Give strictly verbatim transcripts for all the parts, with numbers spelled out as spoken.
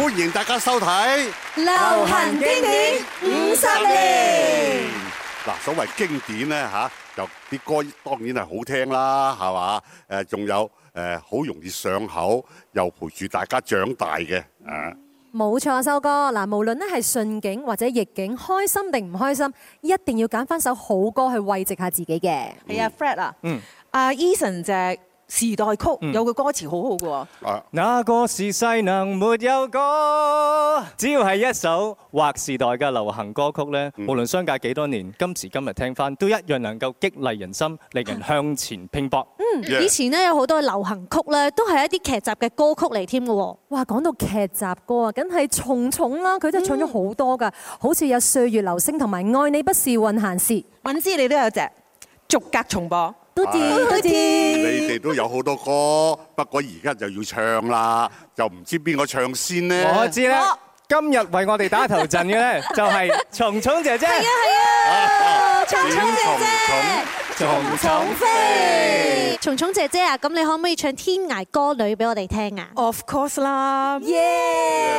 歡迎大家收睇流行經典五十年。 嗱，所謂經典咧嚇，就啲歌當然係好聽啦，係嘛？誒，仲有誒好容易上口，又陪住大家長大嘅啊。 冇錯，修哥嗱，無論咧係順境或者逆境，開心定唔開心，一定要揀翻首好歌去慰藉下自己嘅。 係啊 ，Fred 啊， 嗯， 阿 Eason 隻時代曲有個歌詞好好嘅喎。 那個時勢能沒有歌，只要係一首劃時代嘅流行歌曲咧，無論相隔幾多年，今時今日聽翻都一樣能夠激勵人心，令人向前拼搏。 嗯，以前咧有好多流行曲咧，都係一啲劇集嘅歌曲嚟添嘅喎。 哇，講到劇集歌啊，梗係蟲蟲啦，佢真係唱咗好多㗎，好似有《歲月流星》同埋《愛你不是運閒事》。 敏之你都有隻逐格重播。 都知都知， 你哋都有好多歌，不過而家就要唱啦，就唔知邊個唱先呢？ 我知啦，今日為我哋打頭陣嘅咧，就係蟲蟲姐姐。 係啊係啊，蟲蟲姐姐， 蟲蟲飛。 蟲蟲姐姐啊，咁你可唔可以唱《天涯歌女》俾我哋聽啊 ？Of course 啦， 耶！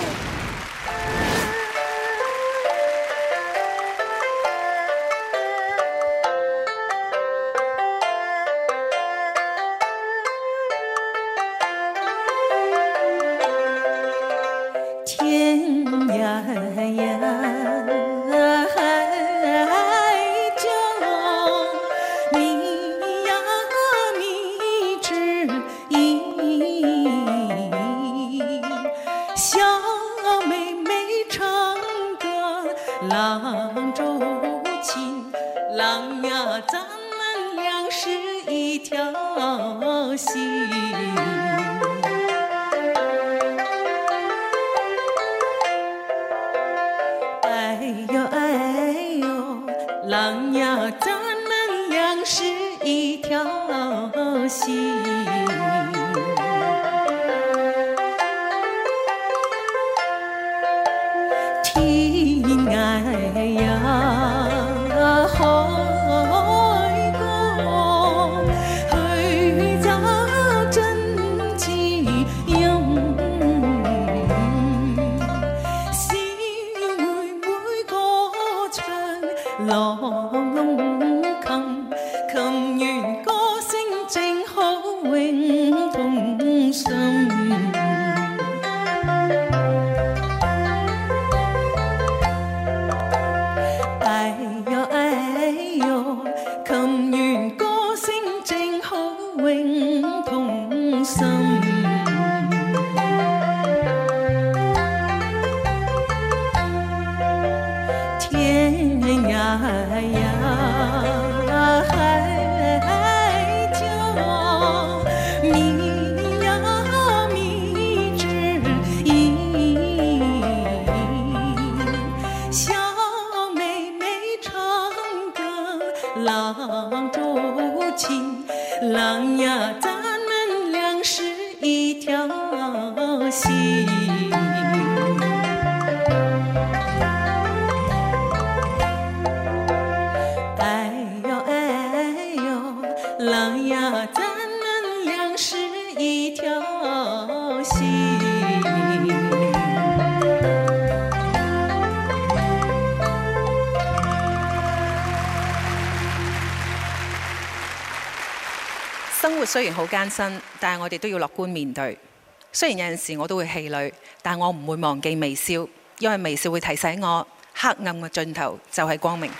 雖然好艱辛，但係我哋都要樂觀面對。雖然有陣時我都會氣餒，但我唔會忘記微笑，因為微笑會提醒我黑暗嘅盡頭就係光明。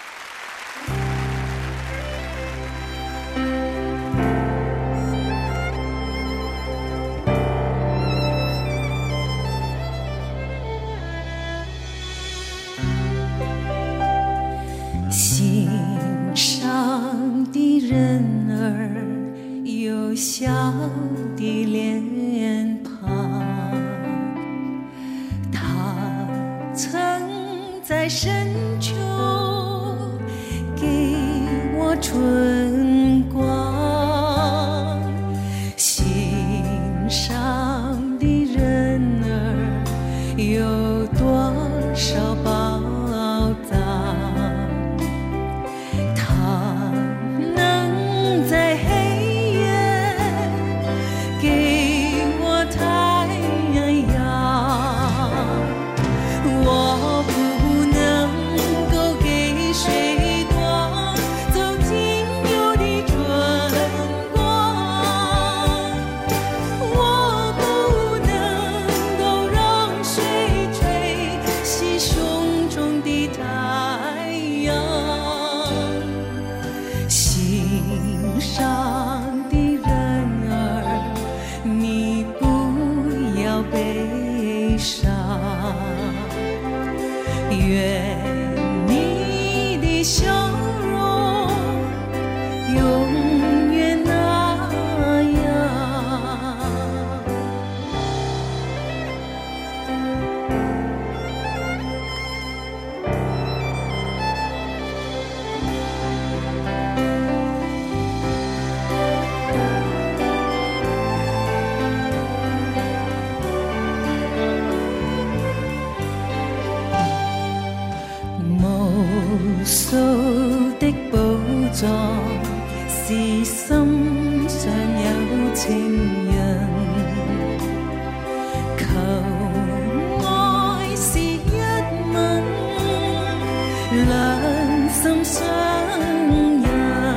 心上的人兒有笑的臉龐，他曾在深秋給我春光，心上的人兒有多少寶藏，他能在黑給我太陽悲伤。愿你的笑容永远那样。无数的寶藏，是心上有情人。求愛是一吻，兩心相印。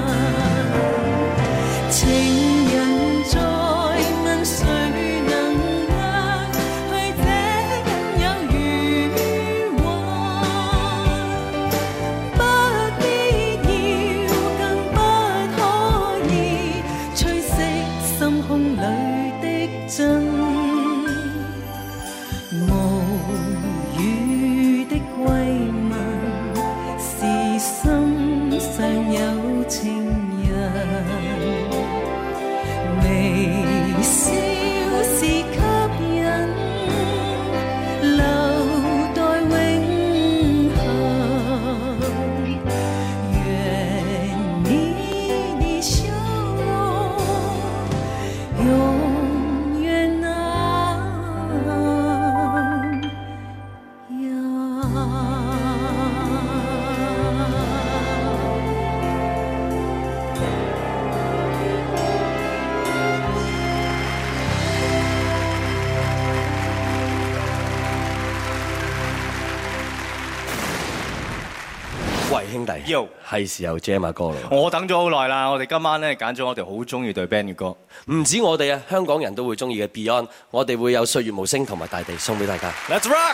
情人在問誰能讓去這僅有餘溫。不必要，更不可以吹熄心胸裏的真。無語的慰問，是心上有情人。微笑是吸引，留待永恆。願你的笑容永遠那喂，兄弟，係時候 jam 下歌啦！ 我等咗好耐啦，我哋今晚咧揀咗我哋好中意對 band 嘅歌， 唔止我哋啊，香港人都會中意嘅 Beyond，我哋會有歲月無聲同埋大地送俾大家。Let's rock！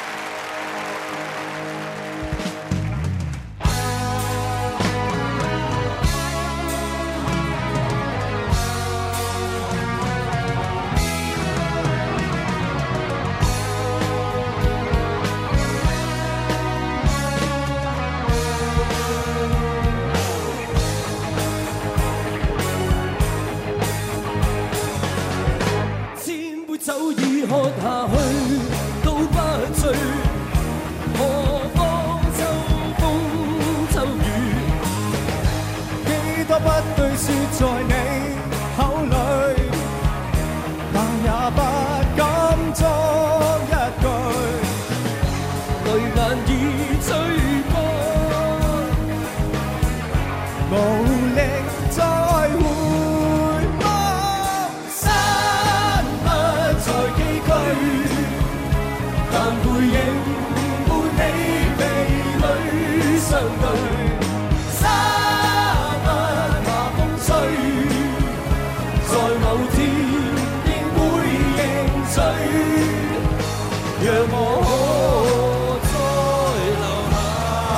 千杯酒已喝下去，都不醉。何況秋風秋雨，幾多不對説在你口裏，但也不敢作一句。淚眼已吹乾，無力再回望。山不再崎嶇，但背影伴你鼻裏相對。沙不怕風吹，在某天應會認罪。讓我可再留下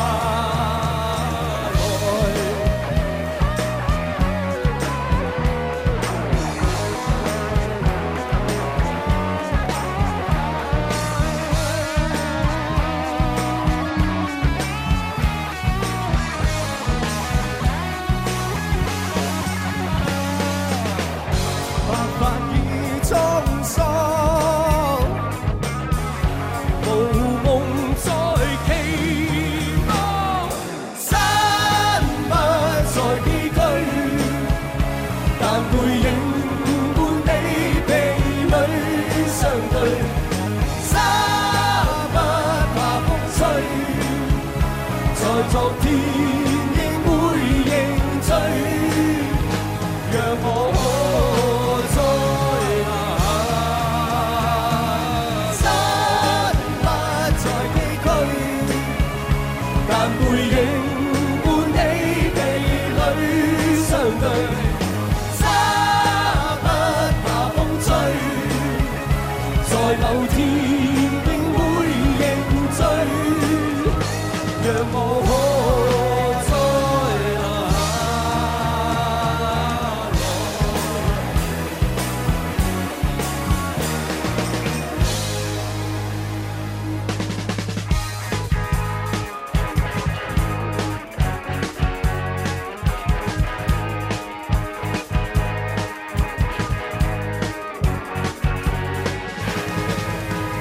白髮已滄桑，無夢再期望。山不再崎嶇，但背影伴你鼻裏相對。沙不怕風吹，在昨天應會認罪。讓我可再留下。山不再崎嶇，但背影伴你鼻裏相對。沙不怕風吹，在某天應會認罪。讓我可再留下。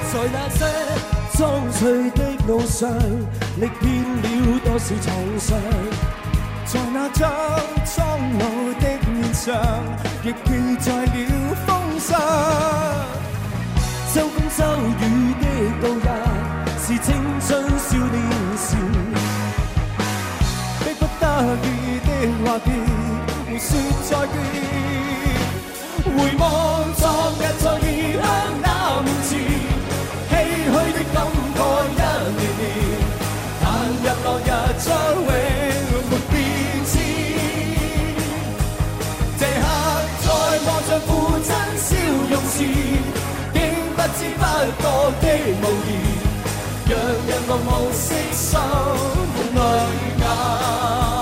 在那些蒼翠的路上，歷遍了多少創傷。在那張蒼老的面上，亦記載了風霜。秋風秋雨的度日，是青春少年時，迫不得已的話別，互說再見。回望昨日在異鄉那面前，唏噓的感慨一年年，但日落日將永沒變遷。這刻再望着父親笑容時，竟不知不覺的無言，讓人茫茫息心滿淚眼。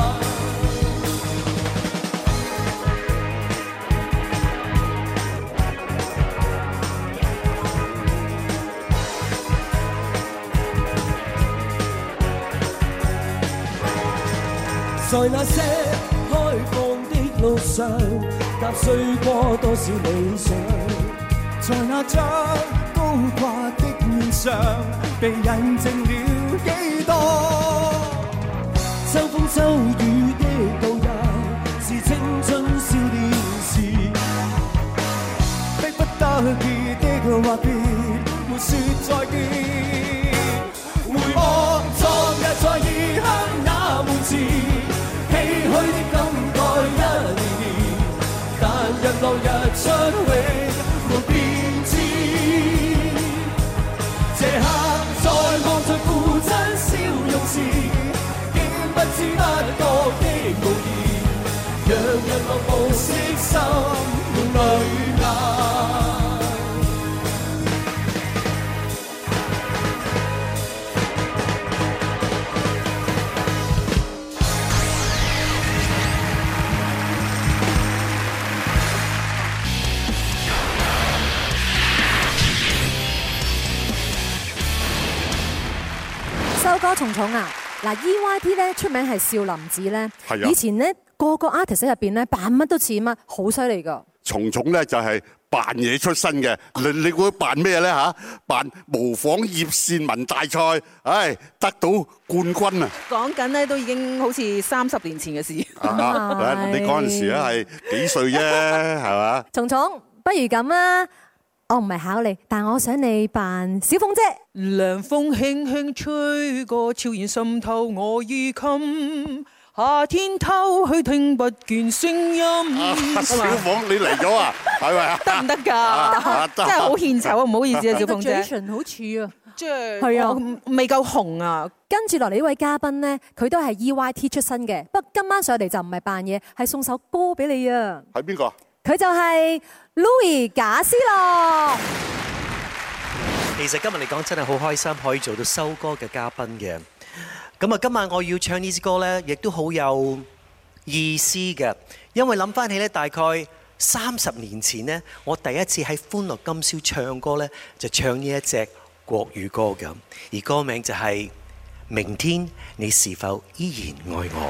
在那些開放的路上，踏碎過多少理想，在那張高掛的面上，被印證了幾多。秋風秋雨的度日，是青春少年時，迫不得已的話別，沒說再見。回望昨日在異鄉那門前，唏噓的感慨一年年，但日落日出永沒變遷。這刻再望着父親笑容時，竟不知不覺的無言，讓人落無色心滿淚眼。 修哥蟲蟲啊，嗱 E Y T 咧出名係少林寺咧， 係啊以前咧個個 artist 入邊咧扮乜都似乜，好犀利噶。 蟲蟲咧就係扮嘢出身嘅，你你會扮咩咧嚇？扮模仿葉倩文大賽，唉，得到冠軍啊！ 講緊咧都已經好似三十年前嘅事。 啊，你嗰陣時咧係幾歲啫？係嘛？ 蟲蟲，不如咁啊！我唔係考你，但我想你扮小鳳姐。 涼風輕輕吹過，悄然滲透我衣襟。夏天偷去聽不見聲音。 小鳳你嚟咗啊？係咪啊？ 得唔得㗎？真係好獻醜啊！唔好意思啊，小鳳姐。 好似啊， 即係係啊， 未夠紅啊！ 跟住落嚟呢位嘉賓呢，佢都係 E Y T 出身嘅，不過今晚上嚟就唔係扮嘢，係送首歌俾你啊！ 係邊個？ 佢就係 Louis 賈思樂。 其實今日嚟講真係好開心，可以做到修哥嘅嘉賓嘅。咁啊，今晚我要唱呢支歌呢，亦都好有意思嘅，因為諗翻起呢，大概三十年前呢，我第一次喺歡樂今宵唱歌呢，就唱呢一隻國語歌嘅，而歌名就係《明天你是否依然愛我》。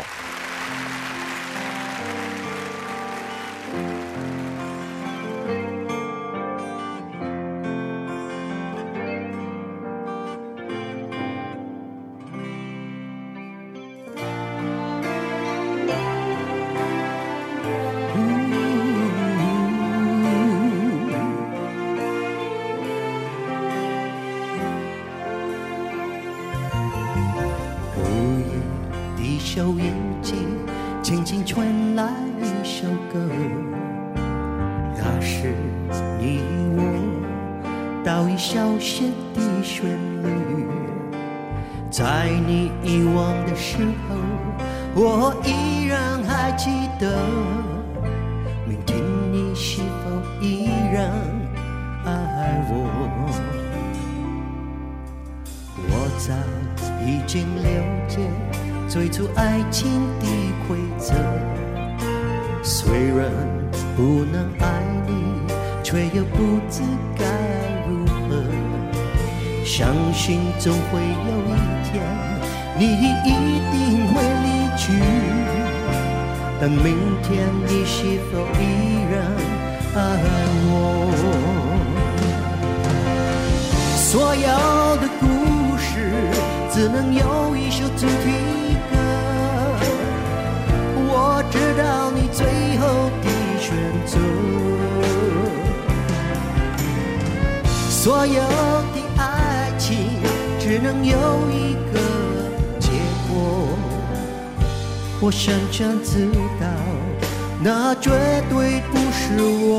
總會有一天，你一定會離去。但明天你是否依然愛我？ 所有的故事只能有一首主题歌。我知道你最后的选择，所有的爱情只能有一个结果。我深深知道，那绝对不是我。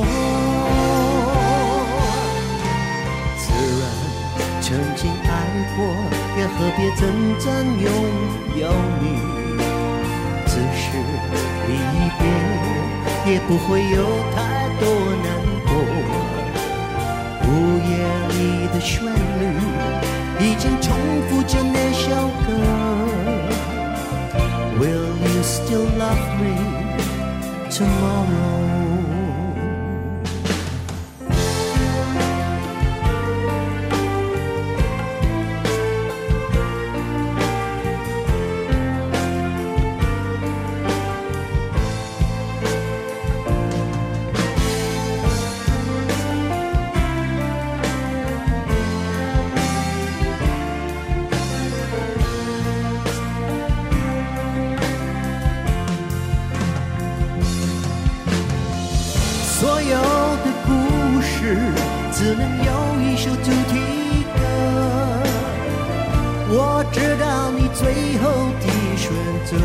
自然曾经爱过，也何必真正拥有你？只是离别，也不会有太多难过。午夜里的旋律，已经重复着那首歌。Will you still love me tomorrow?所有的故事只能有一首主题歌。我知道你最后的选择，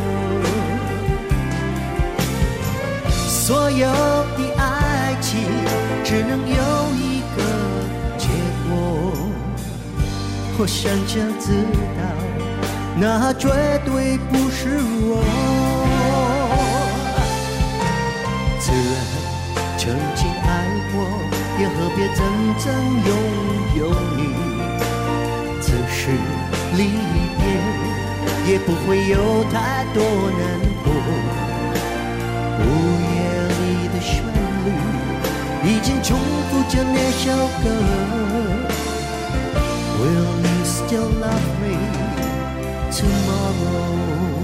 所有的爱情只能有一个结果。我深深知道，那绝对不是我。自然曾经爱过，也何必真正拥有你？只是离别，也不会有太多难过。午夜里的旋律，已经重复着那首歌。Will you still love me tomorrow?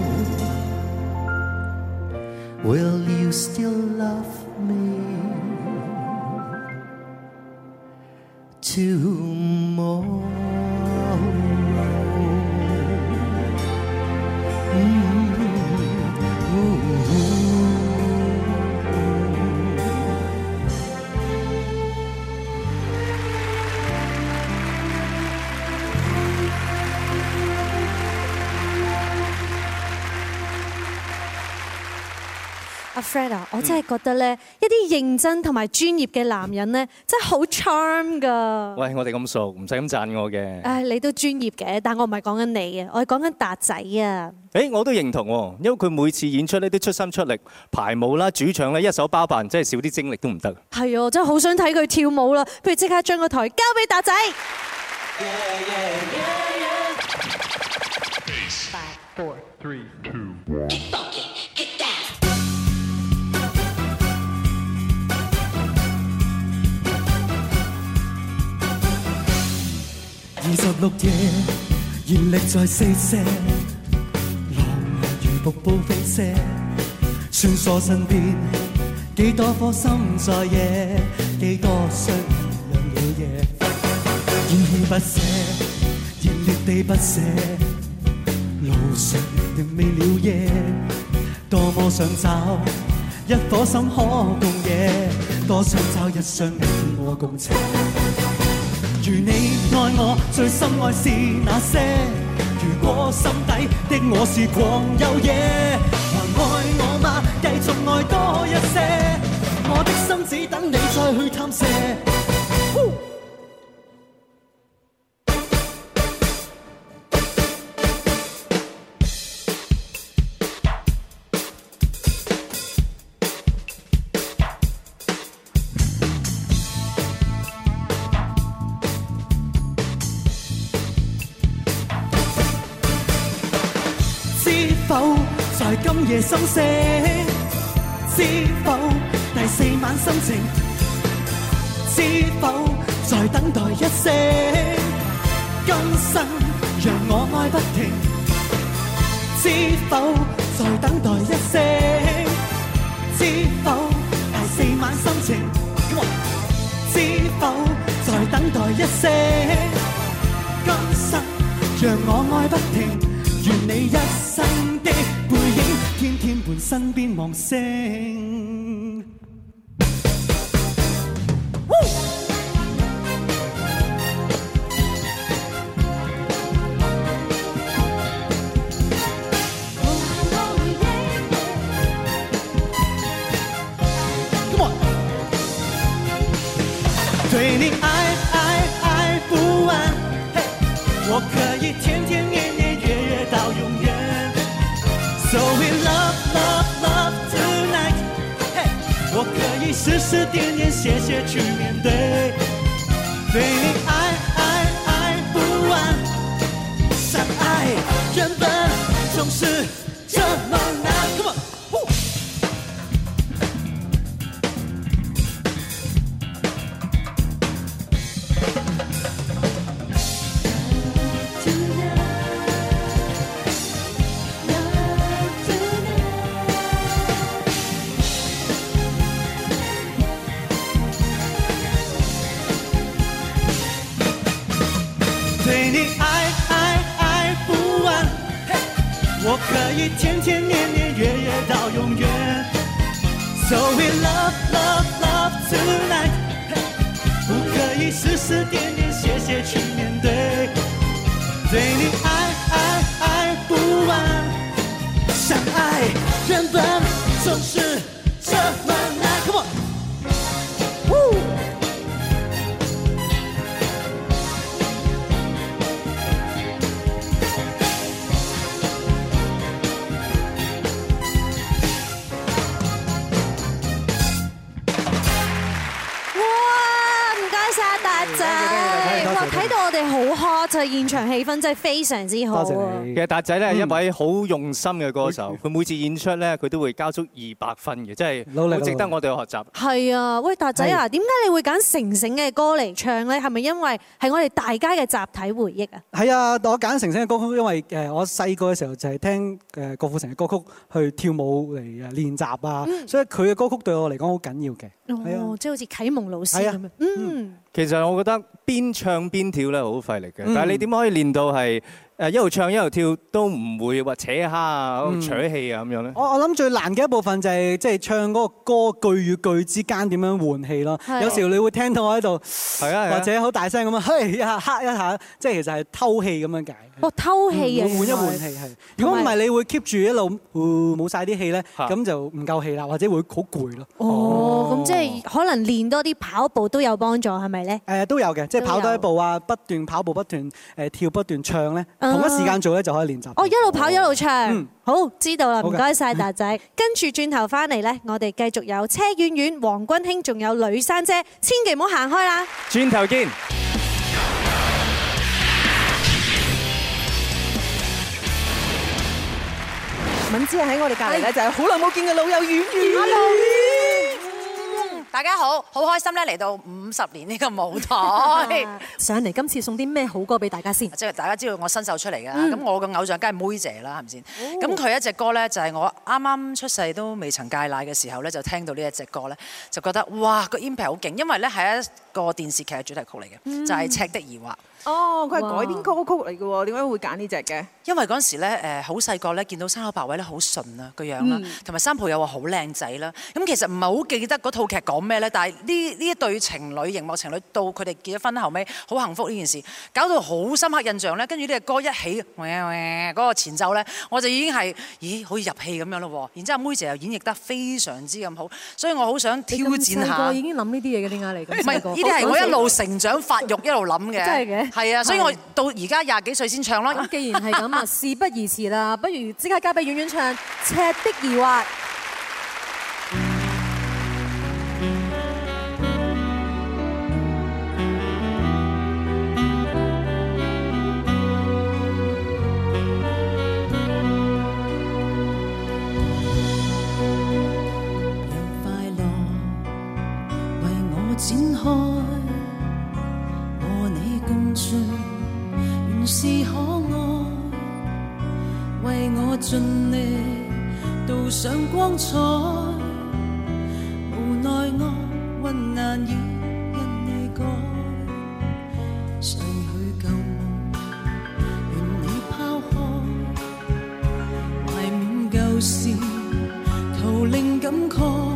Will you still love me tomorrow? Fred 啊，我真係覺得咧，一啲認真同埋專業嘅男人咧，真係好 charm 噶。 喂，我哋咁熟，唔使咁讚我嘅。 誒，你都專業嘅，但我唔係講緊你啊，我係講緊達仔啊。 誒，我都認同喎，因為佢每次演出咧都出心出力，排舞啦、主唱咧一手包辦，真係少啲精力都唔得。 係啊，真係好想睇佢跳舞啦，不如即刻將個台交俾達仔。 Five, four, three, two, one. 二十六夜，燃力在四射，浪如瀑布飛瀉，穿梭身邊，幾多顆心在野，幾多雙人讓了夜，依依不捨，熱烈地不捨，路上仍未了夜，多麼想找一顆心可共野，多想找一雙你我共情。如你愛我，最深愛是那些。如果心底的我是狂有野，還愛我嗎？繼續愛多一些。我的心只等你再去探射。今夜心聲，知否第四晚心情？知否在等待一聲？今生讓我愛不停。知否在等待一聲？知否第四晚心情？知否在再等待一些。今生讓我愛不停，願你一生的背影，天天伴身邊望星。对你爱爱爱不完，嘿，我可以天天年年月月到永远。So we love love love tonight， 嘿，我可以时时点点谢谢去面对。对你爱爱爱不完，相爱原本总是这么难。Come on。我可以天天年年月月到永远 So we love love love tonight， 不可以时时点点谢谢去面对。对你爱爱爱不完，相爱原本总是这么难。Come on。 睇到我哋好 hot 啊！現場氣氛真係非常之好啊！ 其實達仔咧係一位好用心嘅歌手，佢每次演出咧佢都會交足二百分嘅，真係好值得我哋去學習。 係啊，喂達仔啊，點解你會揀成成嘅歌嚟唱咧？係咪因為係我哋大家嘅集體回憶啊？ 係啊，我揀成成嘅歌曲，因為誒我細個嘅時候就係聽誒郭富城嘅歌曲去跳舞嚟誒練習啊，所以佢嘅歌曲對我嚟講好緊要嘅。 哦，即係好似啟蒙老師咁樣。嗯。 其實我覺得邊唱邊跳咧好費力嘅，但係你點可以練到係誒一路唱一路跳都唔會話扯蝦啊、扯氣啊咁樣咧？ 我我諗最難嘅一部分就係即係唱嗰個歌句與句之間點樣換氣咯。有時你會聽到我喺度，係啊，或者好大聲咁樣，嘿一下嚇一下，即係其實係偷氣咁樣解。 哦，偷氣啊！ 換一換氣係。如果唔係，你會 keep 住一路冇晒啲氣咧，咁就唔夠氣啦，或者會好攰咯。 哦，咁即係可能練多啲跑步都有幫助，係咪咧？ 誒都有嘅，即係跑多一步啊，不斷跑步，不斷誒跳，不斷唱咧，同一時間做咧就可以練習。 哦，一路跑一路唱，好知道啦，唔該晒達仔。跟住轉頭翻嚟咧，我哋繼續有車婉婉、黃君興，仲有呂珊姐，千祈唔好行開啦。 轉頭見。 敏芝喺我哋隔離咧，就係好耐冇見嘅老友婉婉。 大家好，好開心咧嚟到五十年呢個舞台。 上嚟今次送啲咩好歌俾大家先？ 即係大家知道我新秀出嚟㗎，咁我嘅偶像梗係妹姐啦，係咪先？咁佢一隻歌咧，就係我啱啱出世都未曾戒奶嘅時候咧，就聽到呢一隻歌咧，就覺得哇個 impact 好勁，因為咧係一個電視劇嘅主題曲嚟嘅，就係《赤的疑惑》。 哦，佢係改編歌曲嚟嘅喎，點解會揀呢隻嘅？ 因為嗰陣時咧，誒好細個咧，見到山口百惠咧好純啊個樣啦，同埋三浦友和好靚仔啦。咁其實唔係好記得嗰套劇講咩咧，但係呢呢一對情侶熒幕情侶到佢哋結咗婚後尾好幸福呢件事，搞到好深刻印象咧。跟住呢隻歌一起，嗰個前奏咧，我就已經係咦好似入戲咁樣咯。然之後妹姐又演繹得非常之咁好，所以我好想挑戰下。 我已經諗呢啲嘢嘅，點解你咁？ 唔係呢啲係我一路成長發育一路諗嘅。真係嘅。係啊，所以我到而家廿幾歲先唱咯。 咁既然係咁啊，事不宜遲啦，不如即刻交俾婉婉唱《赤的疑惑》。 讓快樂為我展開，和你共聚原是可愛，為我盡力導上光彩，無奈我還難以因你改， 時求靈感慨，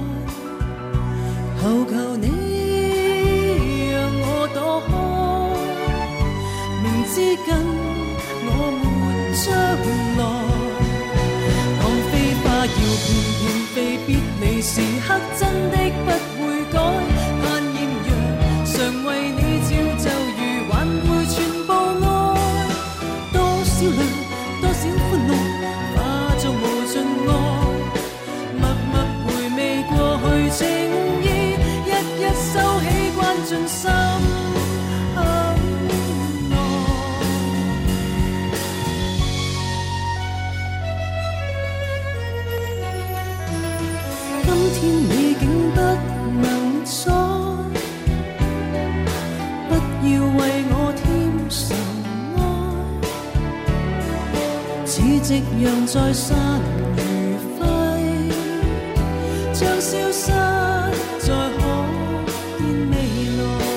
求求你讓我躲開，明知跟我沒將來，當飛花要翩翩飛，別離時刻真的不會改，盼豔陽常為你照就如挽回全部愛，多少淚多少歡樂化作無盡愛，默默回味過去情意，一一收起關進心內。今天你竟不能再，不要為我添愁愛，似夕陽在散如揮，將消失在可見未來。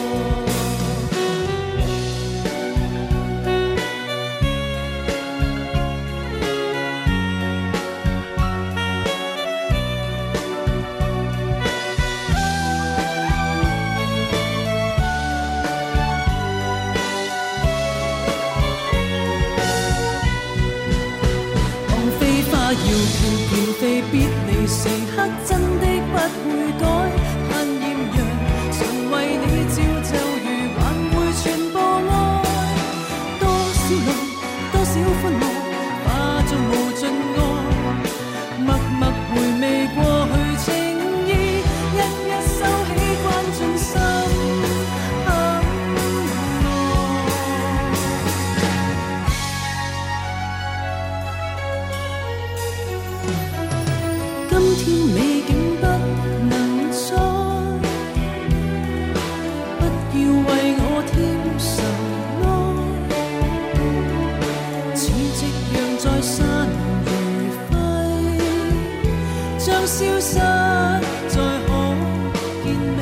要翩翩飛，別離時刻真的不會改，盼豔陽常為你照就如挽回全部愛，多少淚多少歡樂化作無盡愛，默默回味過去情意，一一收起關進心今天你竟不能再，不要為我添愁愛，似夕陽在散如揮，將消失在可見未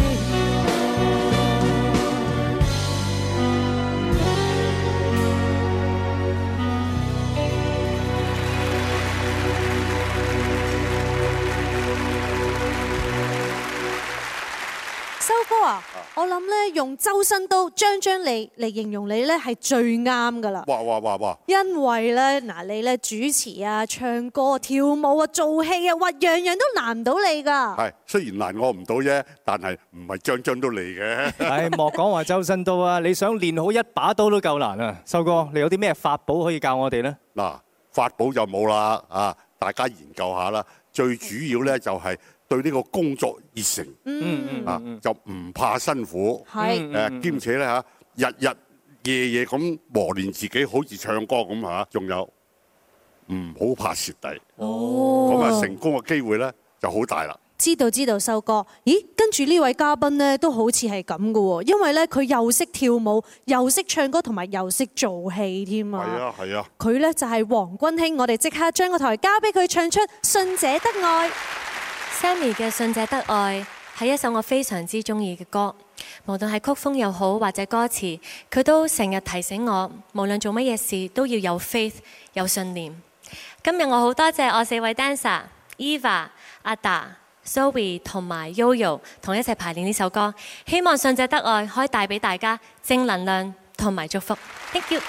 修哥啊，我諗咧用周身刀張張利嚟形容你咧係最啱噶啦。 哇哇哇哇！ 因為咧嗱，你咧主持啊、唱歌、跳舞啊、做戲啊，哇，樣樣都難唔到你噶。 係，雖然難我唔到啫，但係唔係張張都嚟嘅。 唉，莫講話周身刀啊！你想練好一把刀都夠難啊！修哥，你有啲咩法寶可以教我哋呢？ 嗱，法寶就冇啦，啊，大家研究下啦。最主要咧就係對呢個工作熱誠， 嗯啊，就唔怕辛苦， 係誒，兼且咧嚇，日日夜夜咁磨練自己，好似唱歌咁嚇，仲有唔好怕蝕底， 哦， 咁啊成功嘅機會咧就好大啦。 知道知道，修哥，咦，跟住呢位嘉賓咧都好似係咁嘅喎，因為咧佢又識跳舞，又識唱歌，同埋又識做戲添啊。 係啊係啊， 佢咧就係黃君馨，我哋即刻將個台交俾佢唱出《信者得愛》。 Sammy 嘅《信者得愛》係一首我非常之中意嘅歌，無論係曲風又好或者歌詞，佢都成日提醒我，無論做乜嘢事都要有 faith 有信念。今日我好多謝我四位 dancer，Eva、阿達、Zoe 同埋 Yoyo 同一齊排練呢首歌，希望《信者得愛》可以帶俾大家正能量同埋祝福。Thank you。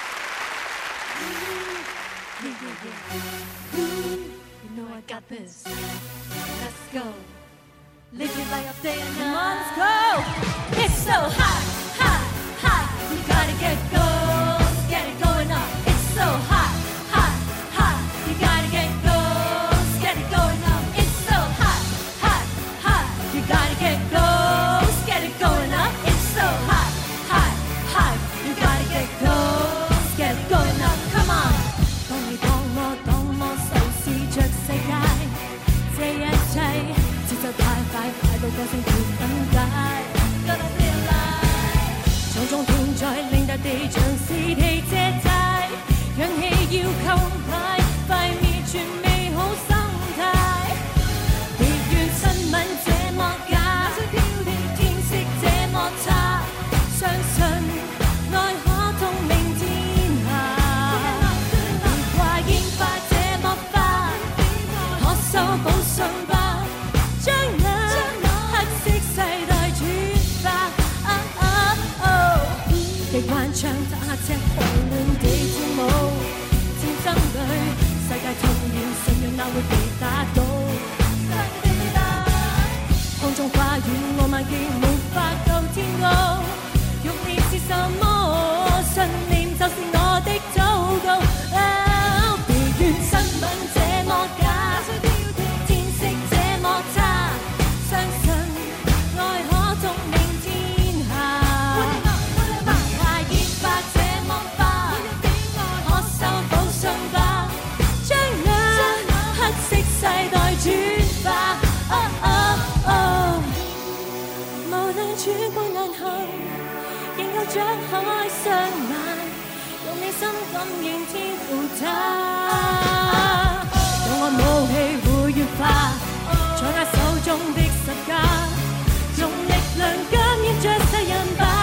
Go. Live your life day and night. Let's go. It's so hot, hot, hot. You gotta get go, get it going up. It's so hot, hot, hot. You gotta get go, get it going up. It's so hot, hot, hot. You gotta get go, get it going up. It's so hot, hot, hot. You gotta get go, get it going up. Come on. 當你當我當我受試着世界，這一切。節奏太快，快到歌聲跳分解。種種天災令大地。 槍打赤狂亂地跳舞，戰爭裏世界痛了，信仰哪會被打倒？空中花園我萬記無法夠天高，欲念是什麼？信念就是我的禱告。別怨新聞這麼假，天色這麼差，相信愛可縱明天下。華煙花這麼花，可修補傷疤，將那黑色世代轉化。無論曙光難行，仍舊張開雙眼，用你心感應天父他。當我武器會越化，在握手中的十架，用力量感應着世人吧。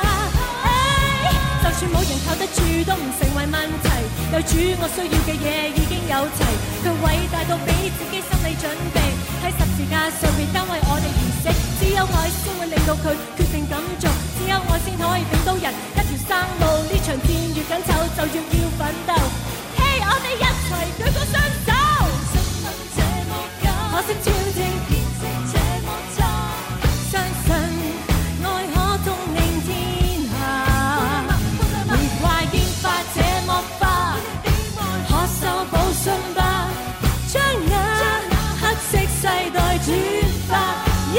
就算冇人靠得住，都唔成為問題。有主，我需要嘅嘢已經有齊，佢偉大到比自己心理準備。喺十字架上面單為我哋而死，只有愛先會令到佢決定咁做，只有愛先可以俾到人一條生路。呢場戰越緊湊，就越要奮鬥。嘿，我哋一齊舉高雙手。新聞這麼假，可惜超正天色這麼差，相信愛可統領天下。玫瑰煙花這麼花，可修補傷疤，將那黑色世代轉化。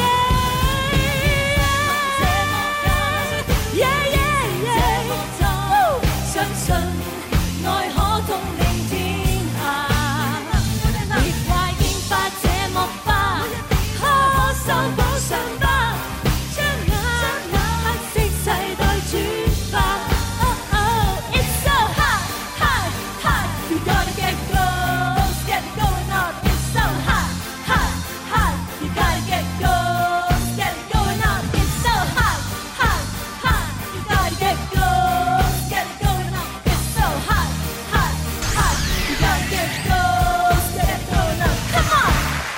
相信愛可統領天下。玫瑰煙花這麼花，可修補傷疤，將那黑色世代轉化。It's so hot, hot, hot. You gotta get close, get it going on. It's so hot, hot, hot. You gotta get close, get it going on. It's so hot, hot, hot. You gotta get close, get it going on. It's so hot, hot, hot. You gotta get close, get it going on. Come on.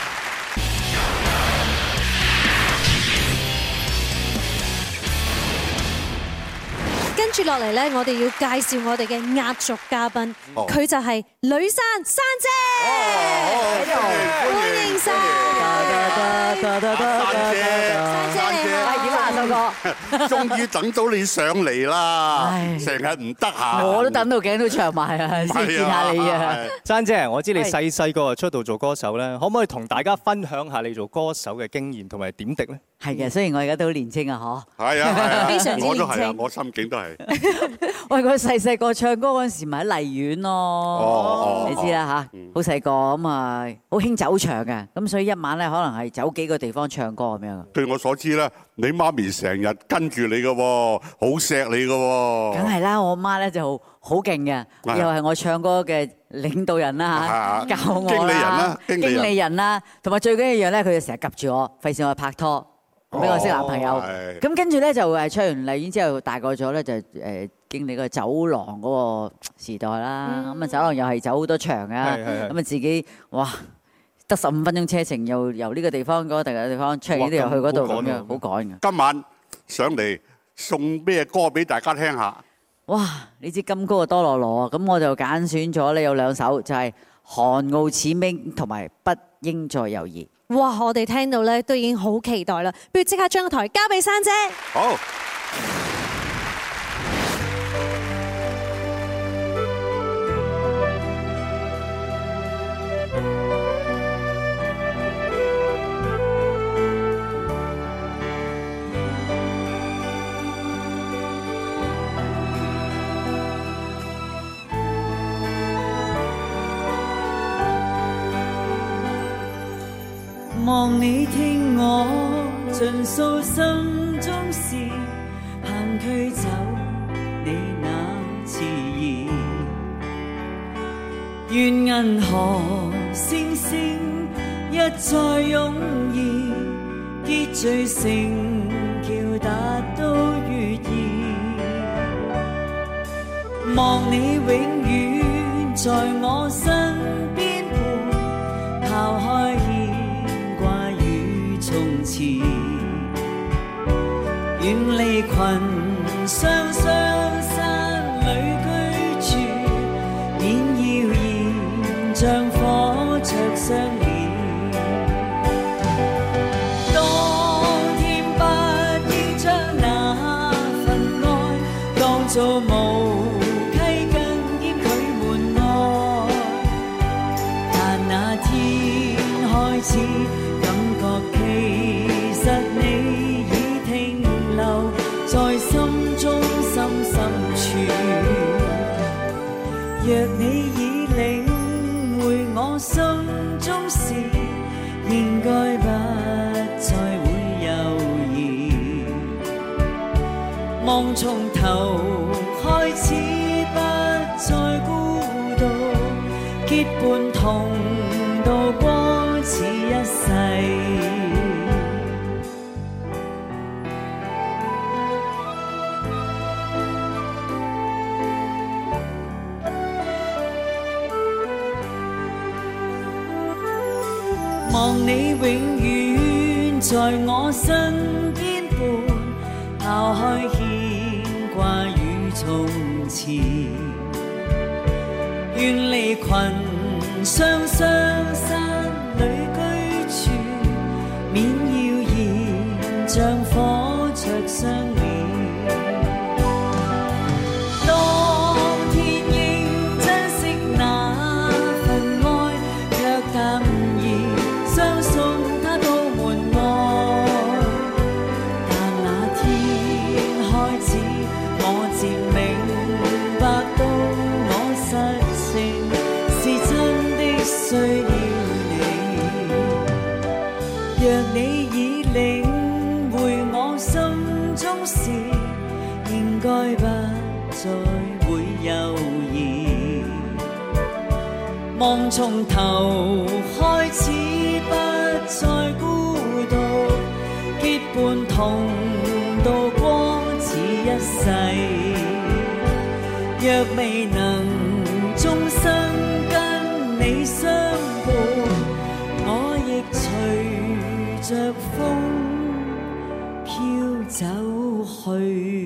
跟住落嚟咧，我哋要介紹我哋嘅壓軸嘉賓， 哦佢就係呂珊珊姐，歡迎晒。 珊姐，珊姐， 係點啊，秀哥？ 終於等到你上嚟啦！成日唔得閒， 我都等到頸都長埋啊，先見下你啊！ 珊姐，我知你細細個就出道做歌手咧，可唔可以同大家分享下你做歌手嘅經驗同埋點滴咧？ 係嘅，雖然我而家都好年青啊，嗬。 係啊，係啊非常之我都係啊， 年青我心境都係。 喂，我細細個唱歌嗰陣時，咪喺荔園咯， 哦你知啦嚇，好細個咁啊，好興走場嘅，咁所以一晚咧可能係走幾個地方唱歌咁樣。 據我所知咧，你媽咪成日跟住你嘅喎，好錫你嘅喎。 梗係啦，我媽咧就好勁嘅，又係我唱歌嘅領導人啦嚇，教我經理人啦， 經理人啦，同埋最緊要一樣咧，佢就成日及住我，費事我拍拖。俾我識男朋友，咁跟住咧就誒唱完荔園之後大個咗咧就誒經歷個走廊嗰個時代啦，咁啊走廊又係走好多場啊，咁啊自己哇得十五分鐘車程，又由呢個地方嗰個第二個地方唱完呢度又去嗰度咁樣，好趕嘅。今晚上嚟送咩歌俾大家聽下？ 哇！你知金歌嘅多羅羅啊，咁我就揀選咗咧有兩首，就係《寒傲似冰》同埋《不應再猶豫》。 哇！我哋聽到咧都已經好期待啦，不如即刻將個台交俾珊姐。 好。 望你聽我盡訴心中事，盼驅走你那遲疑。願銀河星星一再擁意，結聚成橋達到月兒。望你永遠在我身邊陪，拋開從前，遠離群相相散。 若你已領會我心中事，應該不再會猶豫。夢從頭開始，不再孤獨，結伴同渡過此一世。望你永遠在我身邊伴，拋開牽掛與從前，遠離群相相山裏居住，免謠言像火灼相連。應該不再會猶豫，夢從頭開始，不再孤獨，結伴同渡過此一世。若未能終生跟你相伴，我亦隨着風飄走去。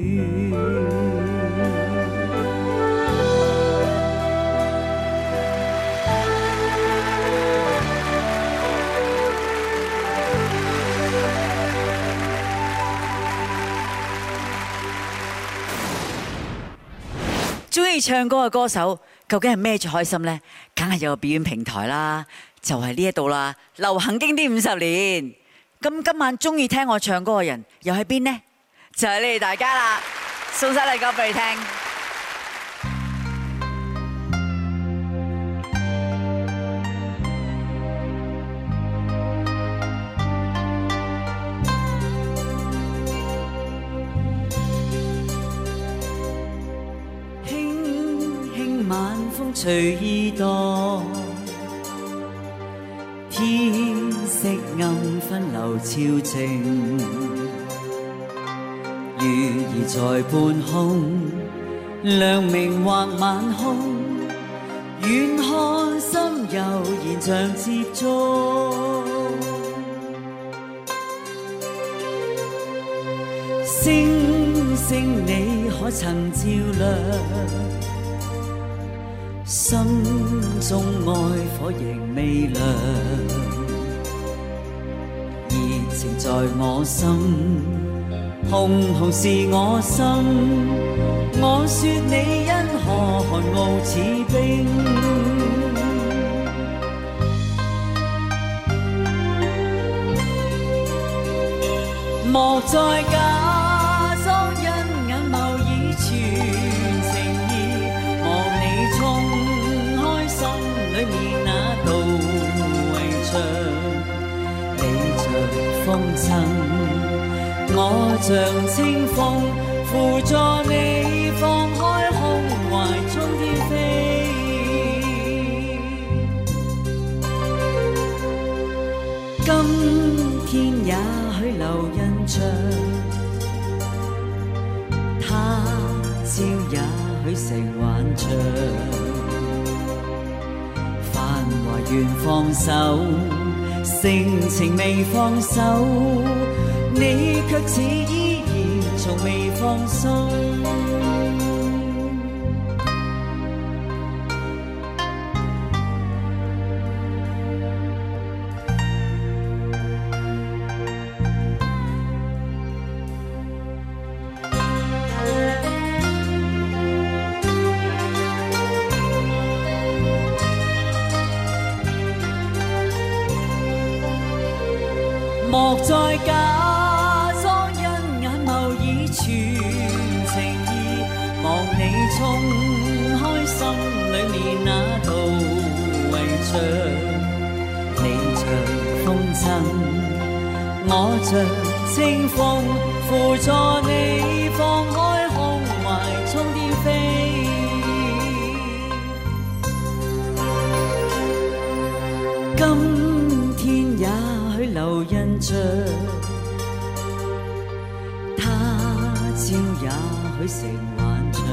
中意唱歌嘅歌手究竟係咩最開心呢？梗係有個表演平台啦，就係呢一度啦。流行經典五十年，咁今晚中意聽我唱歌嘅人又喺邊呢？就係你哋大家啦，送晒禮歌俾你聽。 晚風隨意蕩，天色暗分流潮靜，月兒在半空，亮明畫晚空，遠看心悠然像接觸，星星你可曾照亮？心中愛火仍未亮，熱情在我心，紅紅是我心。我說你因何寒傲似冰，莫再假裝因眼眸已全情意，望你衝裏面那道圍牆，你像風箏，我像清風，扶助你放開胸懷中天飛。今天也許留印象，他朝也許成幻象。願放手，性情未放手，你卻似依然從未放鬆。莫再假裝因眼眸已全情意，望你衝開心裏裏面那道圍牆，你像風箏，我像清風，輔助你放開胸懷，衝天飛。今天也許留印象，他朝也許成幻象。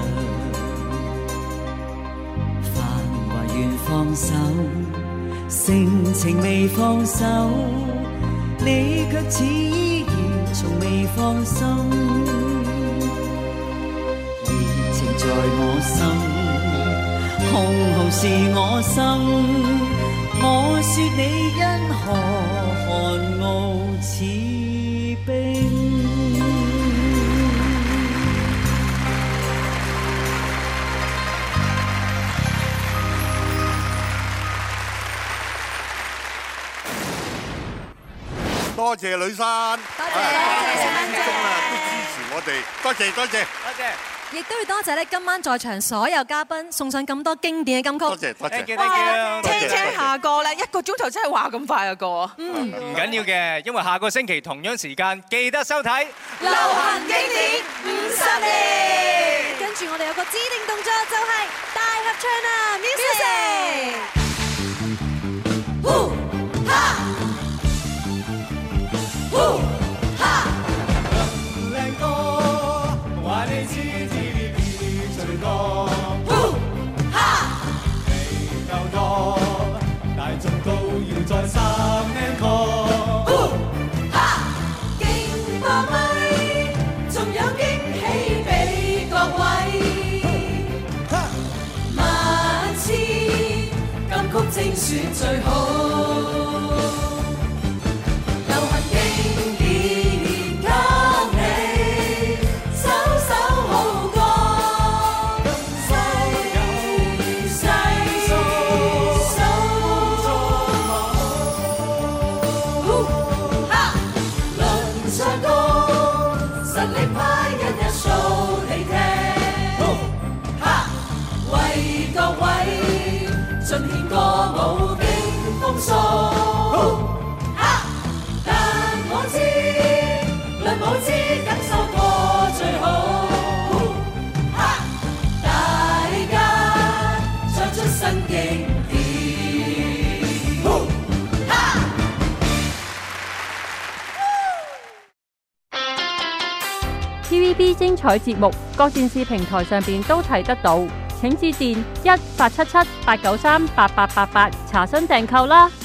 繁華願放手，盛情未放手，你卻似依然從未放心。熱情在我心，紅紅是我心。我說你因何寒傲似冰？ 多謝呂珊，多謝，始終啊都支持我哋，多謝多謝， 多謝。亦都要多謝咧，今晚在場所有嘉賓送上咁多經典嘅金曲。多謝多謝， 哇！車車下個咧，一個鐘頭真係話咁快啊過。 嗯，唔緊要嘅，因為下個星期同樣時間記得收睇流行經典五十年。跟住我哋有個指定動作就係大合唱啊 ！Music。呼哈，呼哈， 靚歌話你知。大眾都要再三 encore， 勁爆咪，仲有驚喜俾各位。萬次金曲精選最好。但我知，論舞姿感受過最好。大家唱出新經典。 T V B 精彩節目，各電視平台上邊都睇得到。請致電一八七七八九三八八八八查詢訂購啦。